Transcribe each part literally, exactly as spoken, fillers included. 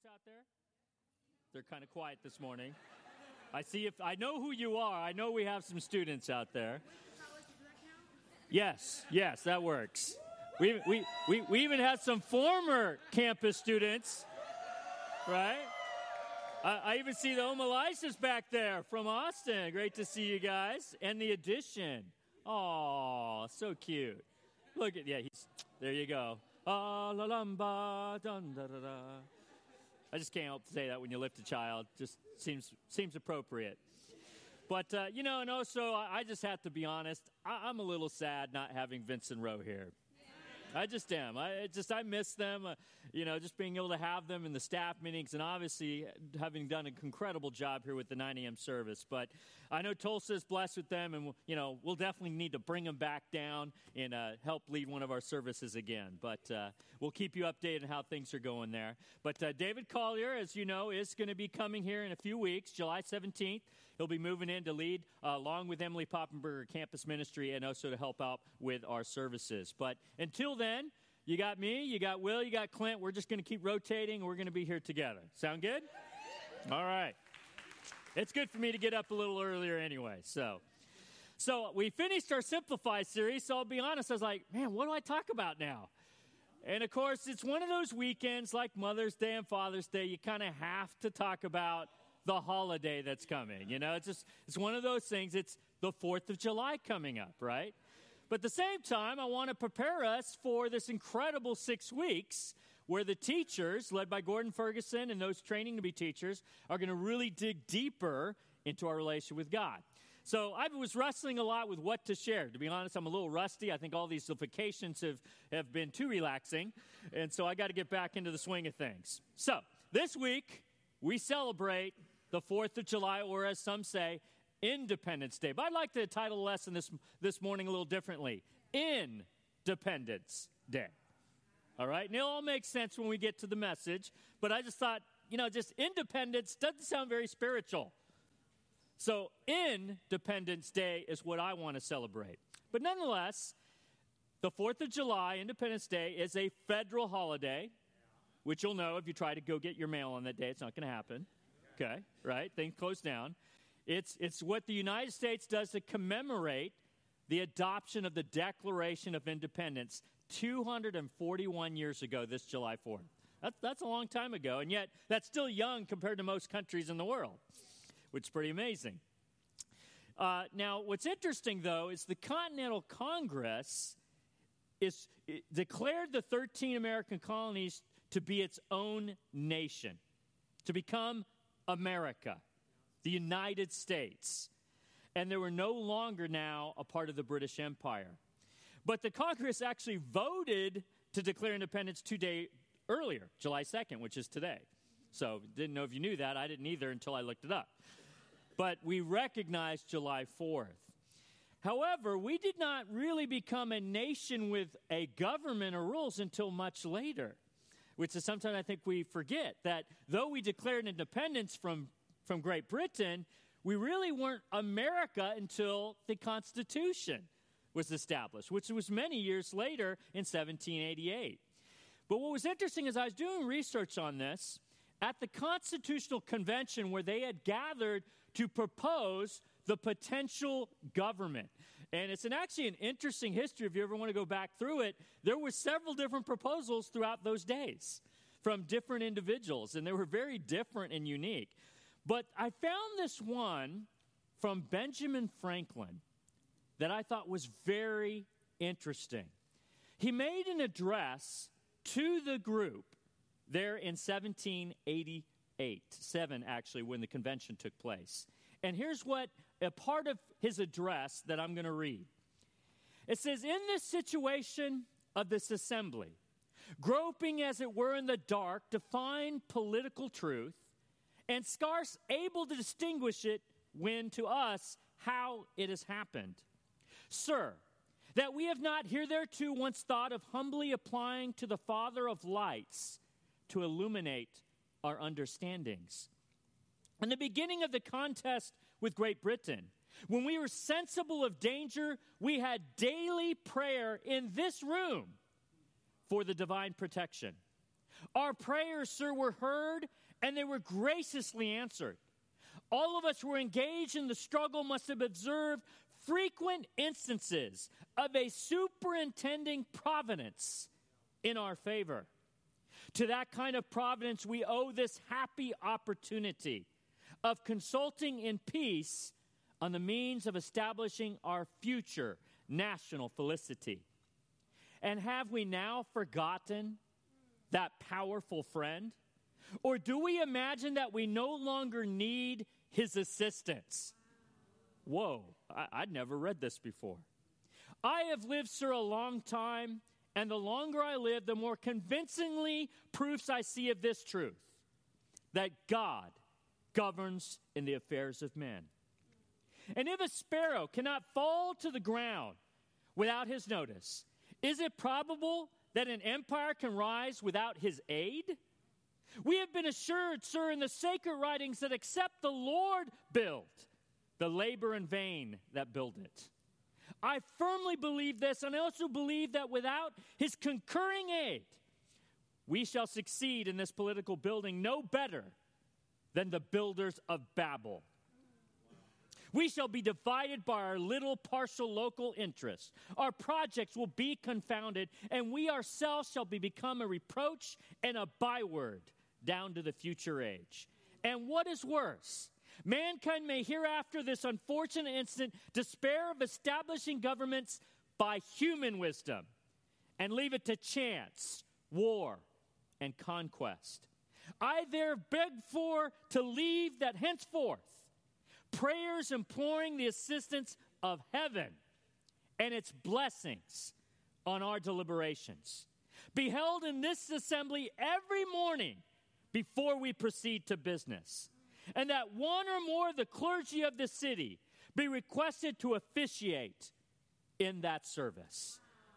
students out there? They're kind of quiet this morning. I see if I know who you are. I know we have some students out there. Yes, yes, that works. We we we, we even have some former campus students, right? I, I even see the Omalysas back there from Austin. Great to see you guys. And the addition. Oh, so cute. Look at, yeah, he's, there you go. Ah, la lamba, dun, da, da, da. I just can't help to say that when you lift a child. Just seems seems appropriate. But, uh, you know, and also, I, I just have to be honest. I, I'm a little sad not having Vincent Rowe here. I just am. I it just I miss them, uh, you know, just being able to have them in the staff meetings and obviously having done an incredible job here with the nine a.m. service. But I know Tulsa is blessed with them, and, you know, we'll definitely need to bring them back down and uh, help lead one of our services again. But uh, we'll keep you updated on how things are going there. But uh, David Collier, as you know, is going to be coming here in a few weeks, July seventeenth. He'll be moving in to lead, uh, along with Emily Poppenberger, campus ministry, and also to help out with our services. But until then, you got me, you got Will, you got Clint. We're just going to keep rotating. We're going to be here together. Sound good? All right. It's good for me to get up a little earlier anyway. So, so we finished our Simplify series, so I'll be honest. I was like, man, what do I talk about now? And, of course, it's one of those weekends like Mother's Day and Father's Day. You kind of have to talk about the holiday that's coming. You know, it's just it's one of those things. It's the fourth of July coming up, right? But at the same time, I want to prepare us for this incredible six weeks where the teachers, led by Gordon Ferguson and those training to be teachers, are going to really dig deeper into our relationship with God. So I was wrestling a lot with what to share. To be honest, I'm a little rusty. I think all these vacations have, have been too relaxing, and so I got to get back into the swing of things. So this week, we celebrate the fourth of July, or as some say, Independence Day. But I'd like to title the lesson this, this morning a little differently. Independence Day. All right? And it'll all make sense when we get to the message. But I just thought, you know, just independence doesn't sound very spiritual. So Independence Day is what I want to celebrate. But nonetheless, the fourth of July, Independence Day, is a federal holiday, which you'll know if you try to go get your mail on that day. It's not going to happen. Okay, right? Things close down. It's it's what the United States does to commemorate the adoption of the Declaration of Independence two hundred forty-one years ago, this July fourth. That's, that's a long time ago, and yet that's still young compared to most countries in the world, which is pretty amazing. Uh, now, what's interesting, though, is the Continental Congress is declared the thirteen American colonies to be its own nation, to become America, the United States. And they were no longer now a part of the British Empire. But the Congress actually voted to declare independence two days earlier, July second, which is today. So didn't know if you knew that. I didn't either until I looked it up. But we recognized July fourth. However, we did not really become a nation with a government or rules until much later, which is sometimes I think we forget that though we declared independence from, from Great Britain, we really weren't America until the Constitution was established, which was many years later in seventeen eighty-eight. But what was interesting is I was doing research on this at the Constitutional Convention where they had gathered to propose the potential government. And it's an, actually an interesting history if you ever want to go back through it. There were several different proposals throughout those days from different individuals, and they were very different and unique. But I found this one from Benjamin Franklin that I thought was very interesting. He made an address to the group there in seventeen eighty-eight, seven actually, when the convention took place. And here's what a part of his address that I'm going to read. It says, "In this situation of this assembly, groping as it were in the dark to find political truth, and scarce able to distinguish it when to us how it has happened. Sir, that we have not hitherto once thought of humbly applying to the Father of lights to illuminate our understandings. In the beginning of the contest with Great Britain, when we were sensible of danger, we had daily prayer in this room for the divine protection. Our prayers, sir, were heard, and they were graciously answered. All of us who were engaged in the struggle must have observed frequent instances of a superintending providence in our favor. To that kind of providence, we owe this happy opportunity of consulting in peace on the means of establishing our future national felicity. And have we now forgotten that powerful friend? Or do we imagine that we no longer need his assistance? Whoa, I, I'd never read this before. I have lived, sir, a long time, and the longer I live, the more convincingly proofs I see of this truth, that God governs in the affairs of men. And if a sparrow cannot fall to the ground without his notice, is it probable that an empire can rise without his aid? We have been assured, sir, in the sacred writings that except the Lord build, the labor in vain that build it. I firmly believe this, and I also believe that without his concurring aid, we shall succeed in this political building no better than the builders of Babel. We shall be divided by our little partial local interests. Our projects will be confounded, and we ourselves shall be become a reproach and a byword down to the future age. And what is worse, mankind may hereafter this unfortunate instant despair of establishing governments by human wisdom and leave it to chance, war, and conquest. I there beg for to leave that henceforth prayers imploring the assistance of heaven and its blessings on our deliberations be held in this assembly every morning before we proceed to business, and that one or more of the clergy of the city be requested to officiate in that service.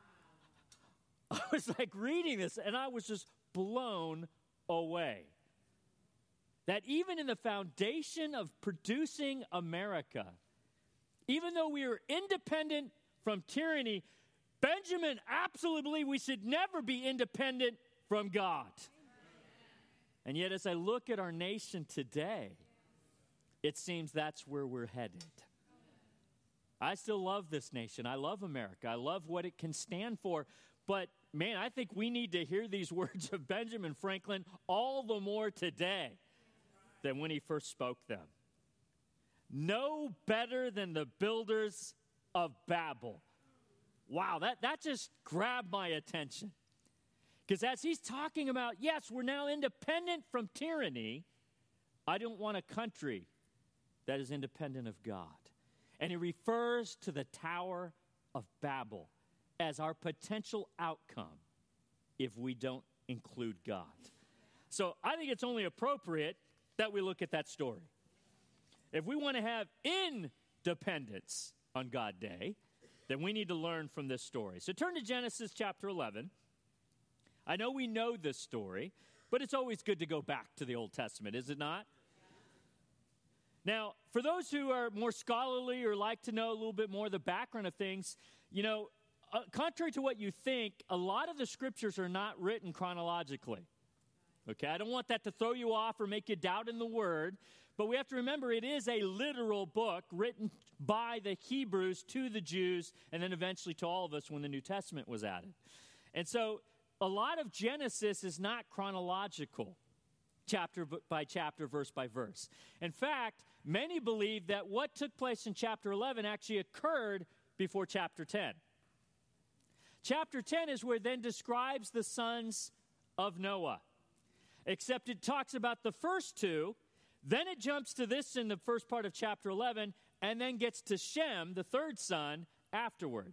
I was like reading this, and I was just blown away. That even in the foundation of producing America, even though we are independent from tyranny, Benjamin absolutely believed we should never be independent from God. And yet, as I look at our nation today, it seems that's where we're headed. I still love this nation. I love America. I love what it can stand for. But, man, I think we need to hear these words of Benjamin Franklin all the more today than when he first spoke them. No better than the builders of Babel. Wow, that, that just grabbed my attention. Because as he's talking about, yes, we're now independent from tyranny, I don't want a country that is independent of God. And he refers to the Tower of Babel as our potential outcome if we don't include God. So I think it's only appropriate that we look at that story. If we want to have independence on God Day, then we need to learn from this story. So turn to Genesis chapter eleven. I know we know this story, but it's always good to go back to the Old Testament, is it not? Now, for those who are more scholarly or like to know a little bit more of the background of things, you know, uh, contrary to what you think, a lot of the scriptures are not written chronologically. Okay, I don't want that to throw you off or make you doubt in the word, but we have to remember it is a literal book written by the Hebrews to the Jews and then eventually to all of us when the New Testament was added. And so a lot of Genesis is not chronological, chapter by chapter, verse by verse. In fact, many believe that what took place in chapter eleven actually occurred before chapter ten. Chapter ten is where it then describes the sons of Noah. Except it talks about the first two, then it jumps to this in the first part of chapter eleven, and then gets to Shem, the third son, afterward.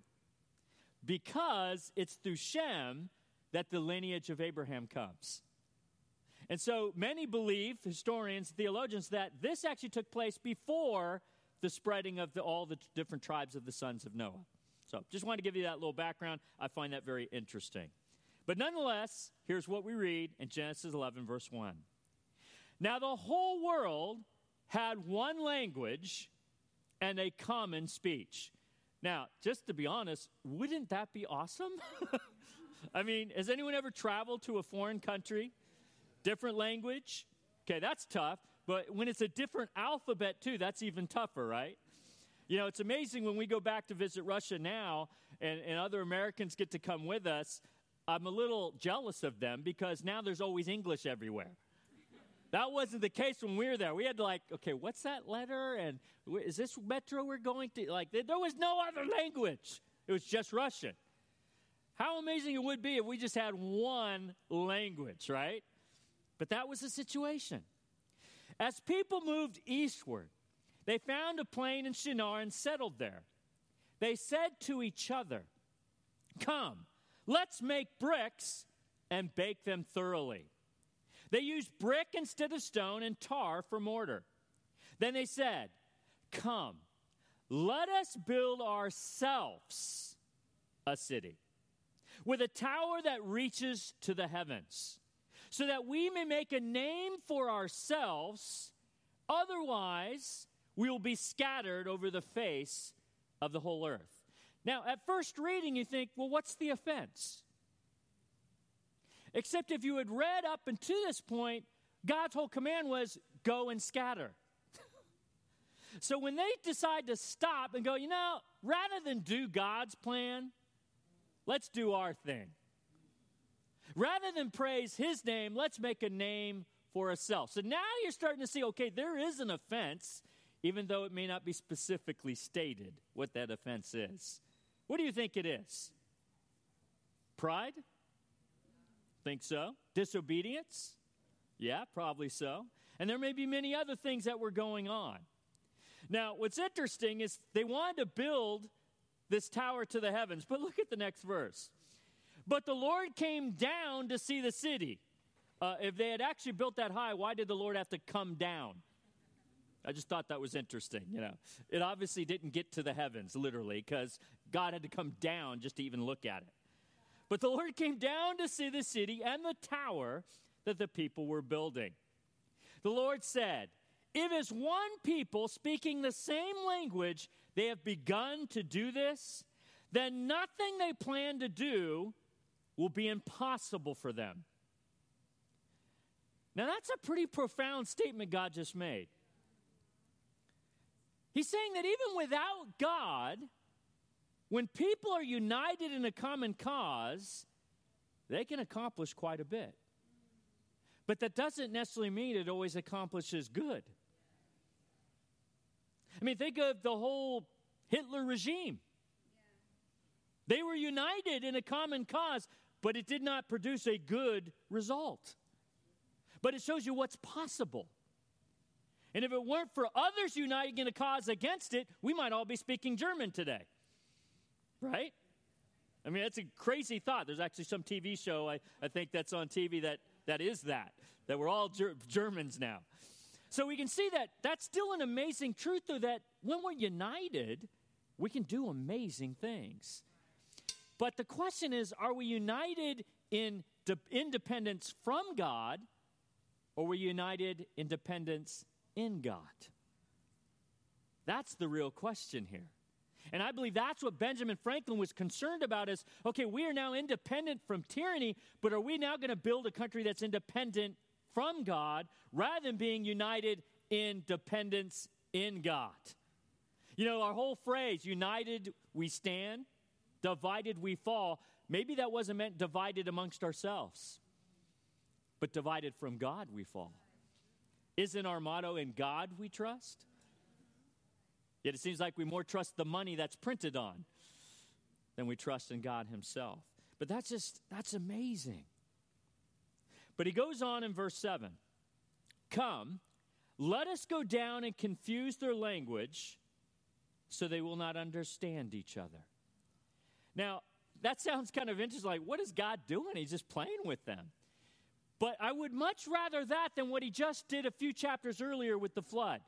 Because it's through Shem that the lineage of Abraham comes. And so many believe, historians, theologians, that this actually took place before the spreading of the, all the different tribes of the sons of Noah. So just wanted to give you that little background. I find that very interesting. But nonetheless, here's what we read in Genesis eleven, verse one. Now the whole world had one language and a common speech. Now, just to be honest, wouldn't that be awesome? I mean, has anyone ever traveled to a foreign country Different language. Okay, that's tough. But when it's a different alphabet, too, that's even tougher, right? You know, it's amazing when we go back to visit Russia now and, and other Americans get to come with us. I'm a little jealous of them because now there's always English everywhere. That wasn't the case when we were there. We had to like, okay, what's that letter? And is this metro we're going to? Like, there was no other language. It was just Russian. How amazing it would be if we just had one language, right? But that was the situation. As people moved eastward, they found a plain in Shinar and settled there. They said to each other, "Come, let's make bricks and bake them thoroughly." They used brick instead of stone and tar for mortar. Then they said, "Come, let us build ourselves a city with a tower that reaches to the heavens, so that we may make a name for ourselves. Otherwise, we will be scattered over the face of the whole earth." Now, at first reading, you think, well, what's the offense? Except if you had read up until this point, God's whole command was, go and scatter. So when they decide to stop and go, you know, rather than do God's plan, let's do our thing. Rather than praise his name, let's make a name for ourselves. So now you're starting to see, okay, there is an offense, even though it may not be specifically stated what that offense is. What do you think it is? Pride? Think so? Disobedience? Yeah, probably so. And there may be many other things that were going on. Now, what's interesting is they wanted to build this tower to the heavens, but look at the next verse. But the Lord came down to see the city. Uh, if they had actually built that high, why did the Lord have to come down? I just thought that was interesting, you know. It obviously didn't get to the heavens, literally, because God had to come down just to even look at it. But the Lord came down to see the city and the tower that the people were building. The Lord said, "If as one people speaking the same language, they have begun to do this, then nothing they plan to do will be impossible for them." Now that's a pretty profound statement God just made. He's saying that even without God, when people are united in a common cause, they can accomplish quite a bit. But that doesn't necessarily mean it always accomplishes good. I mean, think of the whole Hitler regime. They were united in a common cause, but it did not produce a good result. But it shows you what's possible. And if it weren't for others uniting in a cause against it, we might all be speaking German today. Right? I mean, that's a crazy thought. There's actually some T V show, I, I think that's on T V that, that is that, that we're all ger- Germans now. So we can see that that's still an amazing truth, though, that when we're united, we can do amazing things. But the question is, are we united in de- independence from God, or are we united in dependence in God? That's the real question here. And I believe that's what Benjamin Franklin was concerned about is, okay, we are now independent from tyranny, but are we now going to build a country that's independent from God rather than being united in dependence in God? You know, our whole phrase, united we stand, divided we fall, maybe that wasn't meant divided amongst ourselves, but divided from God we fall. Isn't our motto, in God we trust? Yet it seems like we more trust the money that's printed on than we trust in God himself. But that's just, that's amazing. But he goes on in verse seven. "Come, let us go down and confuse their language so they will not understand each other." Now, that sounds kind of interesting. Like, what is God doing? He's just playing with them. But I would much rather that than what he just did a few chapters earlier with the flood.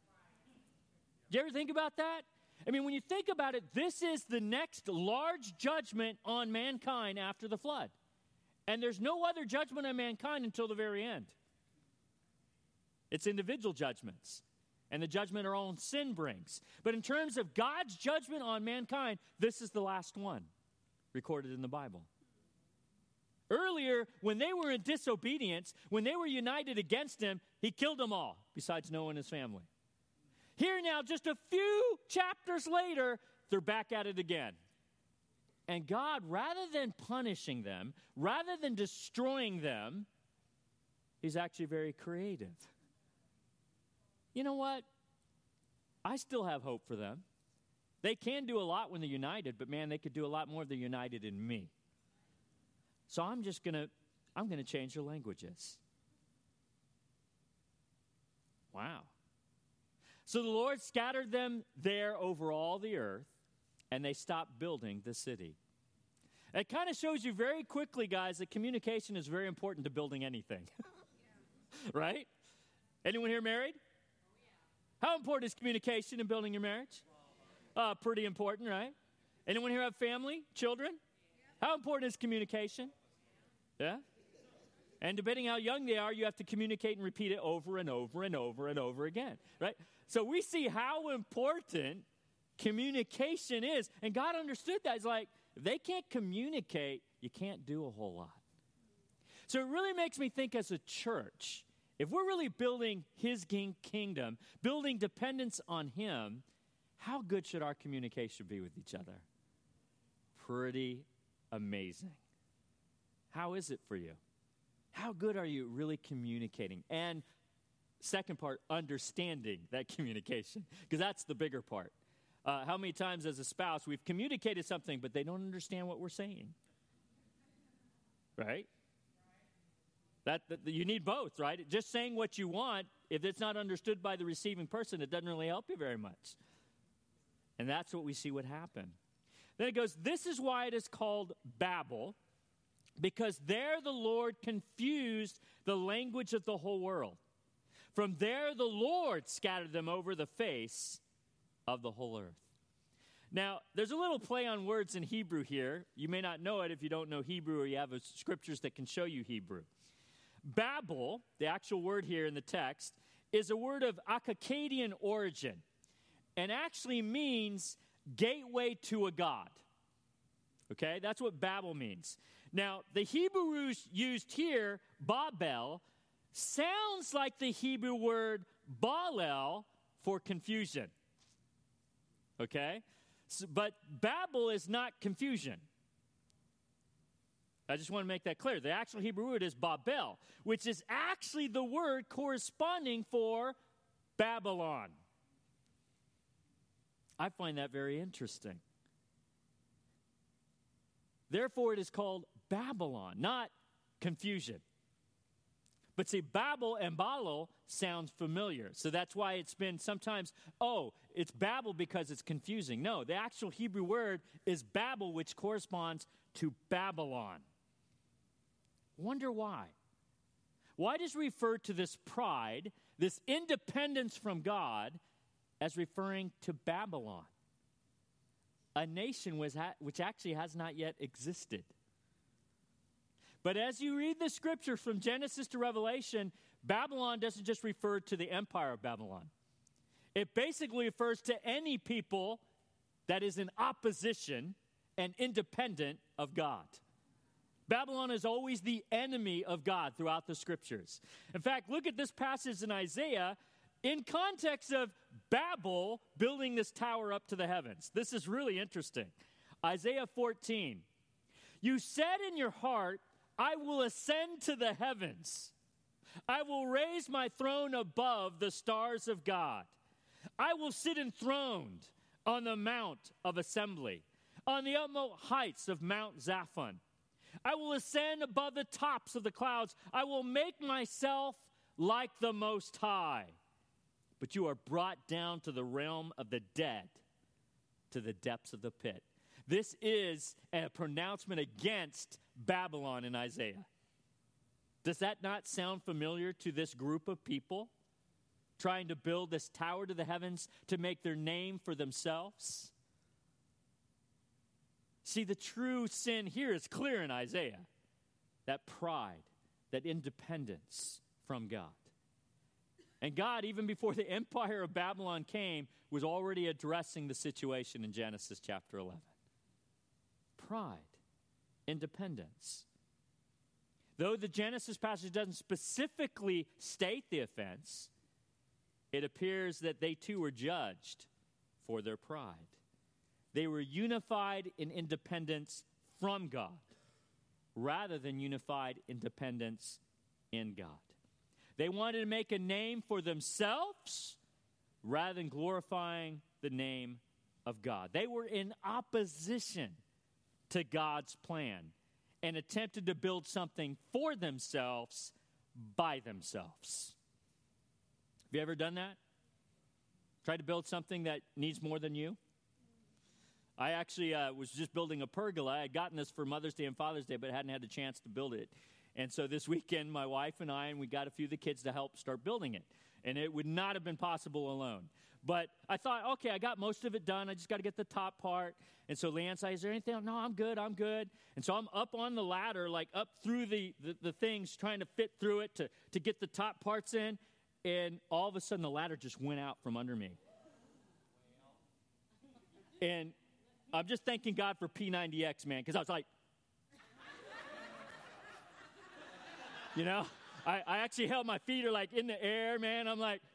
Do you ever think about that? I mean, when you think about it, this is the next large judgment on mankind after the flood. And there's no other judgment on mankind until the very end. It's individual judgments. And the judgment our own sin brings. But in terms of God's judgment on mankind, this is the last one recorded in the Bible. Earlier, when they were in disobedience, when they were united against him, he killed them all, besides Noah and his family. Here now, just a few chapters later, they're back at it again. And God, rather than punishing them, rather than destroying them, he's actually very creative. You know what? I still have hope for them. They can do a lot when they're united, but man, they could do a lot more if they're united in me. So I'm just going to, I'm going to change their languages. Wow. So the Lord scattered them there over all the earth, and they stopped building the city. It kind of shows you very quickly, guys, that communication is very important to building anything. Right? Anyone here married? How important is communication in building your marriage? Uh, pretty important, right? Anyone here have family, children? How important is communication? Yeah? And depending how young they are, you have to communicate and repeat it over and over and over and over again, right? So we see how important communication is. And God understood that. It's like, if they can't communicate, you can't do a whole lot. So it really makes me think as a church, if we're really building his king kingdom, building dependence on him, how good should our communication be with each other? Pretty amazing. How is it for you? How good are you really communicating? And second part, understanding that communication, because that's the bigger part. Uh, how many times as a spouse we've communicated something, but they don't understand what we're saying? Right? That, that you need both, right? Just saying what you want, if it's not understood by the receiving person, it doesn't really help you very much. And that's what we see what happened. Then it goes, this is why it is called Babel, because there the Lord confused the language of the whole world. From there the Lord scattered them over the face of the whole earth. Now, there's a little play on words in Hebrew here. You may not know it if you don't know Hebrew or you have a, scriptures that can show you Hebrew. Babel, the actual word here in the text, is a word of Akkadian origin and actually means gateway to a god. Okay, that's what Babel means. Now, the Hebrews used here, Babel, sounds like the Hebrew word Balel for confusion. Okay, so, but Babel is not confusion. I just want to make that clear. The actual Hebrew word is Babel, which is actually the word corresponding for Babylon. I find that very interesting. Therefore, it is called Babylon, not confusion. But see, Babel and Balal sounds familiar. So that's why it's been sometimes, oh, it's Babel because it's confusing. No, the actual Hebrew word is Babel, which corresponds to Babylon. Wonder why? Why does it refer to this pride, this independence from God, as referring to Babylon, a nation which, ha- which actually has not yet existed? But as you read the scripture from Genesis to Revelation, Babylon doesn't just refer to the empire of Babylon. It basically refers to any people that is in opposition and independent of God. Babylon is always the enemy of God throughout the scriptures. In fact, look at this passage in Isaiah in context of Babel building this tower up to the heavens. This is really interesting. Isaiah fourteen. You said in your heart, I will ascend to the heavens. I will raise my throne above the stars of God. I will sit enthroned on the mount of assembly, on the utmost heights of Mount Zaphon. I will ascend above the tops of the clouds. I will make myself like the Most High. But you are brought down to the realm of the dead, to the depths of the pit. This is a pronouncement against Babylon in Isaiah. Does that not sound familiar to this group of people trying to build this tower to the heavens to make their name for themselves? See, the true sin here is clear in Isaiah. That pride, that independence from God. And God, even before the empire of Babylon came, was already addressing the situation in Genesis chapter eleven. Pride, independence. Though the Genesis passage doesn't specifically state the offense, it appears that they too were judged for their pride. They were unified in independence from God rather than unified independence in God. They wanted to make a name for themselves rather than glorifying the name of God. They were in opposition to God's plan and attempted to build something for themselves by themselves. Have you ever done that? Tried to build something that needs more than you? I actually uh, was just building a pergola. I had gotten this for Mother's Day and Father's Day, but hadn't had a chance to build it. And so this weekend, my wife and I, and we got a few of the kids to help start building it. And it would not have been possible alone. But I thought, okay, I got most of it done. I just got to get the top part. And so Leanne said, is there anything? No, I'm good, I'm good. And so I'm up on the ladder, like up through the, the, the things, trying to fit through it to, to get the top parts in. And all of a sudden, the ladder just went out from under me. And I'm just thanking God for P ninety X, man, because I was like, you know, I, I actually held my feet are like in the air, man. I'm like,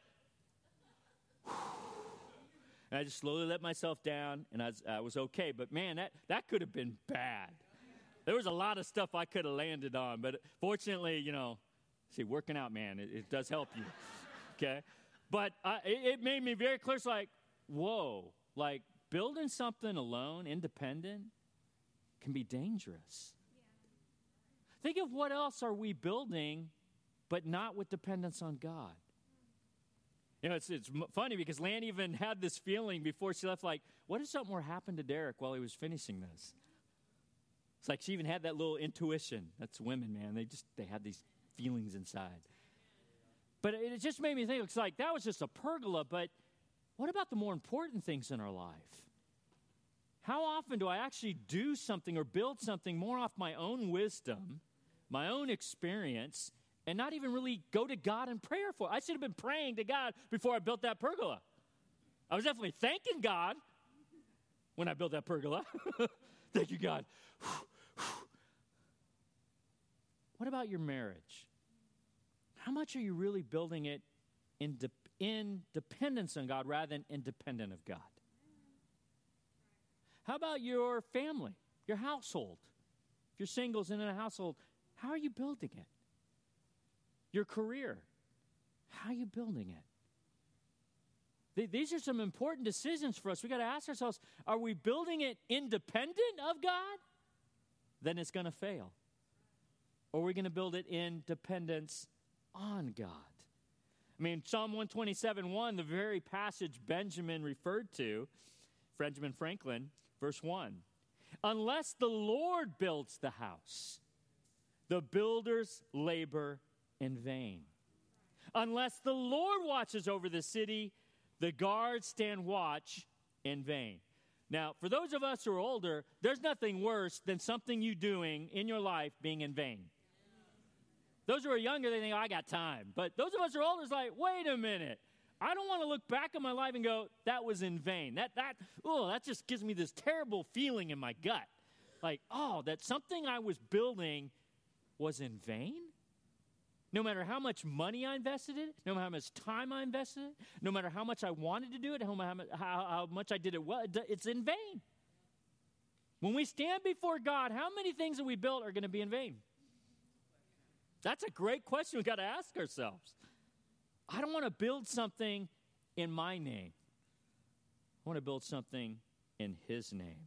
and I just slowly let myself down, and I was, I was okay. But, man, that, that could have been bad. There was a lot of stuff I could have landed on. But fortunately, you know, see, working out, man, it, it does help you. Okay? But uh, it, it made me very clear. It's like, whoa, like building something alone, independent, can be dangerous. Yeah. Think of what else are we building, but not with dependence on God. You know, it's it's funny because Lan even had this feeling before she left, like, what if something were happened to Derek while he was finishing this? It's like she even had that little intuition. That's women, man. They just, they have these feelings inside. But it just made me think, it's like, that was just a pergola, but what about the more important things in our life? How often do I actually do something or build something more off my own wisdom, my own experience, and not even really go to God in prayer for it? I should have been praying to God before I built that pergola. I was definitely thanking God when I built that pergola. Thank you, God. What about your marriage? How much are you really building it in, de- in dependence on God rather than independent of God? How about your family, your household? If you're singles and in a household, how are you building it? Your career, how are you building it? These are some important decisions for us. We got to ask ourselves, are we building it independent of God? Then it's going to fail. Or are we going to build it in dependence on God? I mean, Psalm one twenty-seven one, the very passage Benjamin referred to, Benjamin Franklin, verse one. Unless the Lord builds the house, the builders labor in vain. Unless the Lord watches over the city, the guards stand watch in vain. Now, for those of us who are older, there's nothing worse than something you doing in your life being in vain. Those who are younger, they think, oh, I got time. But those of us who are older, it's like, wait a minute. I don't want to look back at my life and go, that was in vain. That, that, oh, that just gives me this terrible feeling in my gut. Like, oh, that something I was building was in vain? No matter how much money I invested in it, no matter how much time I invested in it, no matter how much I wanted to do it, how, how, how much I did it well, it's in vain. When we stand before God, how many things that we built are going to be in vain? That's a great question we've got to ask ourselves. I don't want to build something in my name. I want to build something in His name.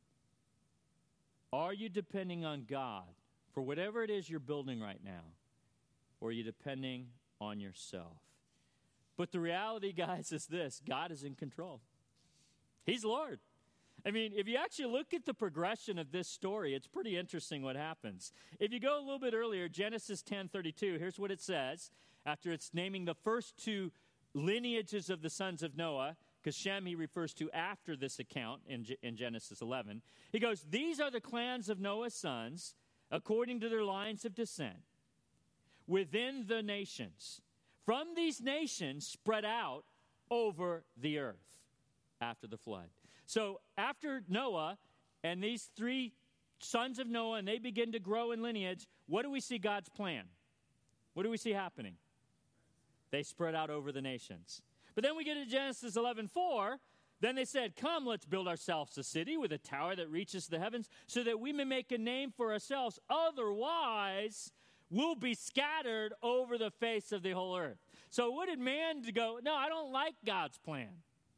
Are you depending on God for whatever it is you're building right now? Or are you depending on yourself? But the reality, guys, is this. God is in control. He's Lord. I mean, if you actually look at the progression of this story, it's pretty interesting what happens. If you go a little bit earlier, Genesis ten thirty-two, here's what it says. After it's naming the first two lineages of the sons of Noah, because Shem he refers to after this account in, G- in Genesis eleven. He goes, these are the clans of Noah's sons, according to their lines of descent, within the nations. From these nations spread out over the earth after the flood. So after Noah and these three sons of Noah, and they begin to grow in lineage, what do we see God's plan? What do we see happening? They spread out over the nations. But then we get to Genesis eleven four. Then they said, come, let's build ourselves a city with a tower that reaches to the heavens so that we may make a name for ourselves. Otherwise, we'll be scattered over the face of the whole earth. So what did man to go, no, I don't like God's plan.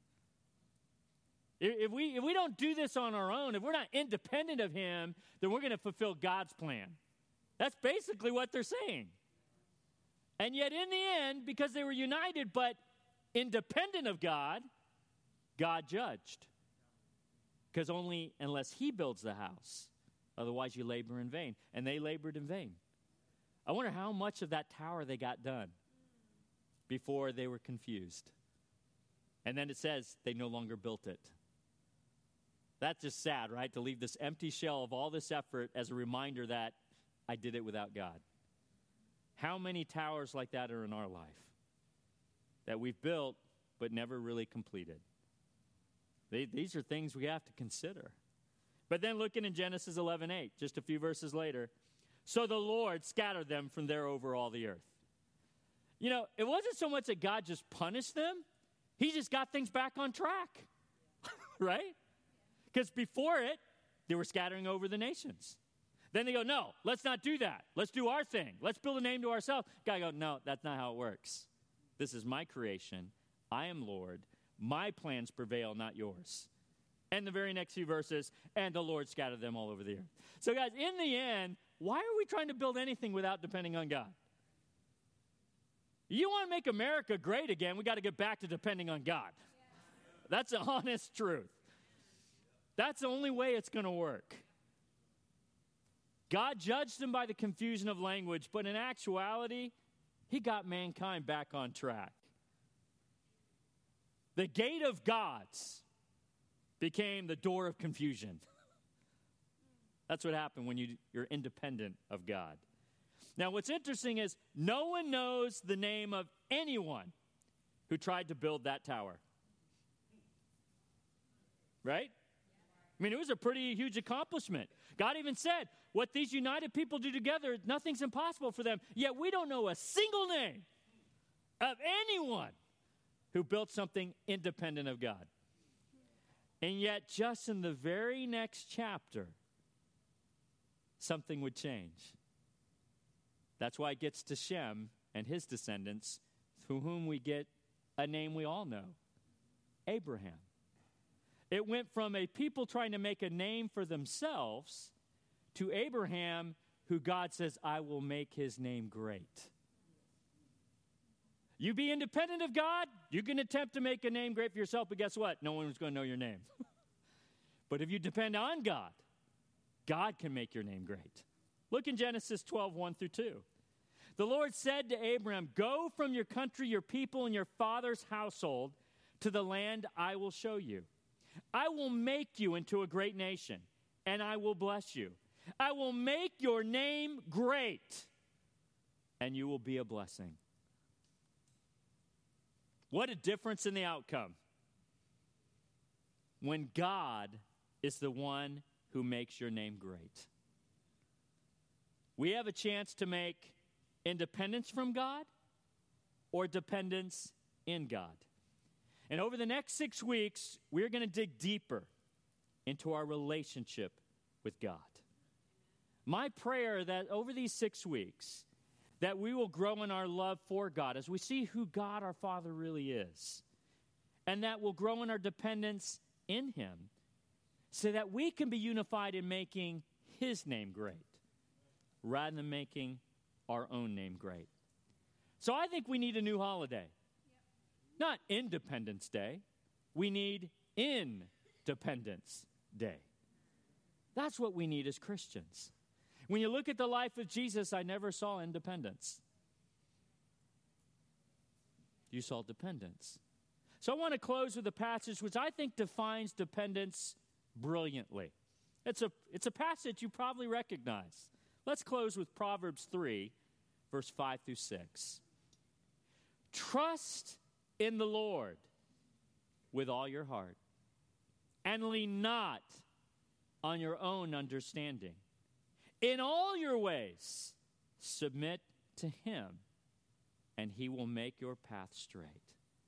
If we, if we don't do this on our own, if we're not independent of him, then we're going to fulfill God's plan. That's basically what they're saying. And yet in the end, because they were united but independent of God, God judged. Because only unless he builds the house, otherwise you labor in vain. And they labored in vain. I wonder how much of that tower they got done before they were confused. And then it says they no longer built it. That's just sad, right? To leave this empty shell of all this effort as a reminder that I did it without God. How many towers like that are in our life that we've built but never really completed? They, these are things we have to consider. But then looking in Genesis eleven eight, just a few verses later, so the Lord scattered them from there over all the earth. You know, it wasn't so much that God just punished them. He just got things back on track, right? Because before it, they were scattering over the nations. Then they go, no, let's not do that. Let's do our thing. Let's build a name to ourselves. God go, no, that's not how it works. This is my creation. I am Lord. My plans prevail, not yours. And the very next few verses, and the Lord scattered them all over the earth. So guys, in the end, why are we trying to build anything without depending on God? You want to make America great again, we got to get back to depending on God. That's the honest truth. That's the only way it's going to work. God judged them by the confusion of language, but in actuality, he got mankind back on track. The gate of gods became the door of confusion. That's what happened when you, you're independent of God. Now, what's interesting is no one knows the name of anyone who tried to build that tower. Right? I mean, it was a pretty huge accomplishment. God even said, what these united people do together, nothing's impossible for them. Yet we don't know a single name of anyone who built something independent of God. And yet, just in the very next chapter, something would change. That's why it gets to Shem and his descendants, through whom we get a name we all know, Abraham. It went from a people trying to make a name for themselves to Abraham, who God says, I will make his name great. You be independent of God, you can attempt to make a name great for yourself, but guess what? No one's going to know your name. But if you depend on God, God can make your name great. Look in Genesis twelve, one through two. The Lord said to Abraham, go from your country, your people, and your father's household to the land I will show you. I will make you into a great nation, and I will bless you. I will make your name great, and you will be a blessing. What a difference in the outcome when God is the one who makes your name great. We have a chance to make independence from God or dependence in God. And over the next six weeks, we're going to dig deeper into our relationship with God. My prayer that over these six weeks, that we will grow in our love for God as we see who God our Father really is. And that we'll grow in our dependence in him so that we can be unified in making his name great rather than making our own name great. So I think we need a new holiday. Not Independence Day. We need Independence Day. That's what we need as Christians. When you look at the life of Jesus, I never saw independence. You saw dependence. So I want to close with a passage which I think defines dependence brilliantly. It's a, it's a passage you probably recognize. Let's close with Proverbs three, verse five through six. Trust in the Lord with all your heart, and lean not on your own understanding. In all your ways, Submit to him, and he will make your path straight.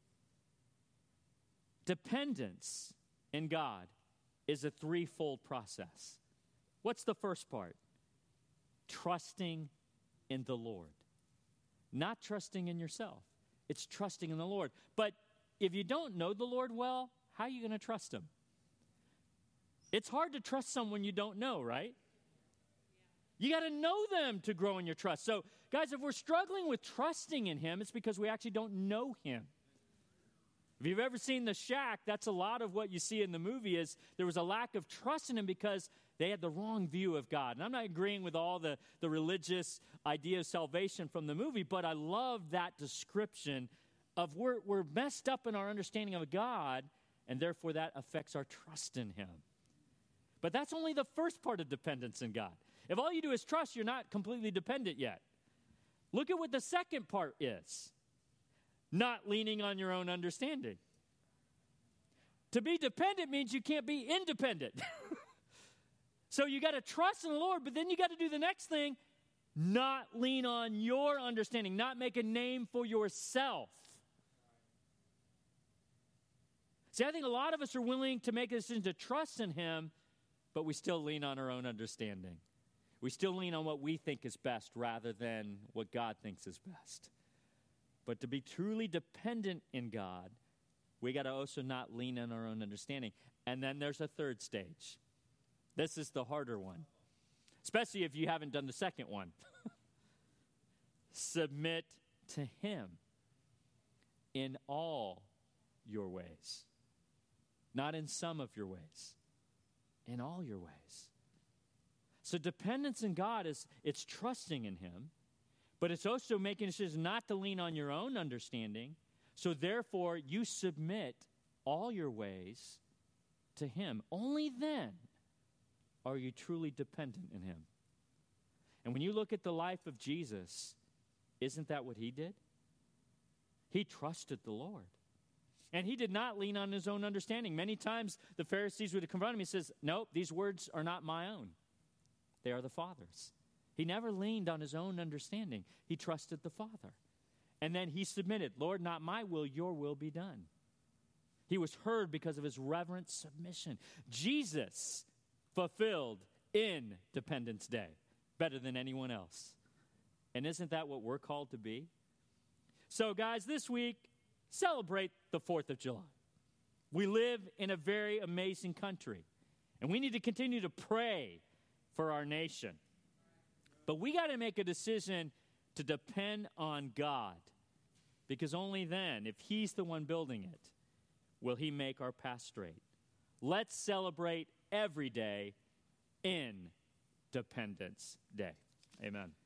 Dependence in God is a threefold process. What's the first part? Trusting in the Lord. Not trusting in yourself. It's trusting in the Lord. But if you don't know the Lord well, how are you going to trust him? It's hard to trust someone you don't know, right? You got to know them to grow in your trust. So, guys, if we're struggling with trusting in him, it's because we actually don't know him. If you've ever seen The Shack, that's a lot of what you see in the movie is there was a lack of trust in him because they had the wrong view of God. And I'm not agreeing with all the, the religious idea of salvation from the movie, but I love that description of we're, we're messed up in our understanding of God, and therefore that affects our trust in him. But that's only the first part of dependence in God. If all you do is trust, you're not completely dependent yet. Look at what the second part is. Not leaning on your own understanding. To be dependent means you can't be independent. So you got to trust in the Lord, but then you got to do the next thing, not lean on your understanding, not make a name for yourself. See, I think a lot of us are willing to make a decision to trust in him, but we still lean on our own understanding. We still lean on what we think is best rather than what God thinks is best. But to be truly dependent in God, we got to also not lean on our own understanding. And then there's a third stage. This is the harder one, especially if you haven't done the second one. Submit to him in all your ways. Not in some of your ways. In all your ways. So dependence in God is, it's trusting in him. But it's also making a decision not to lean on your own understanding. So therefore, you submit all your ways to him. Only then are you truly dependent in him. And when you look at the life of Jesus, isn't that what he did? He trusted the Lord. And he did not lean on his own understanding. Many times the Pharisees would confront him. He says, nope, these words are not my own. They are the Father's. He never leaned on his own understanding. He trusted the Father. And then he submitted, Lord, not my will, your will be done. He was heard because of his reverent submission. Jesus fulfilled Independence Day better than anyone else. And isn't that what we're called to be? So, guys, this week, celebrate the fourth of July. We live in a very amazing country. And we need to continue to pray for our nation. But we got to make a decision to depend on God, because only then, if he's the one building it, will he make our path straight. Let's celebrate every day Independence Day. Amen.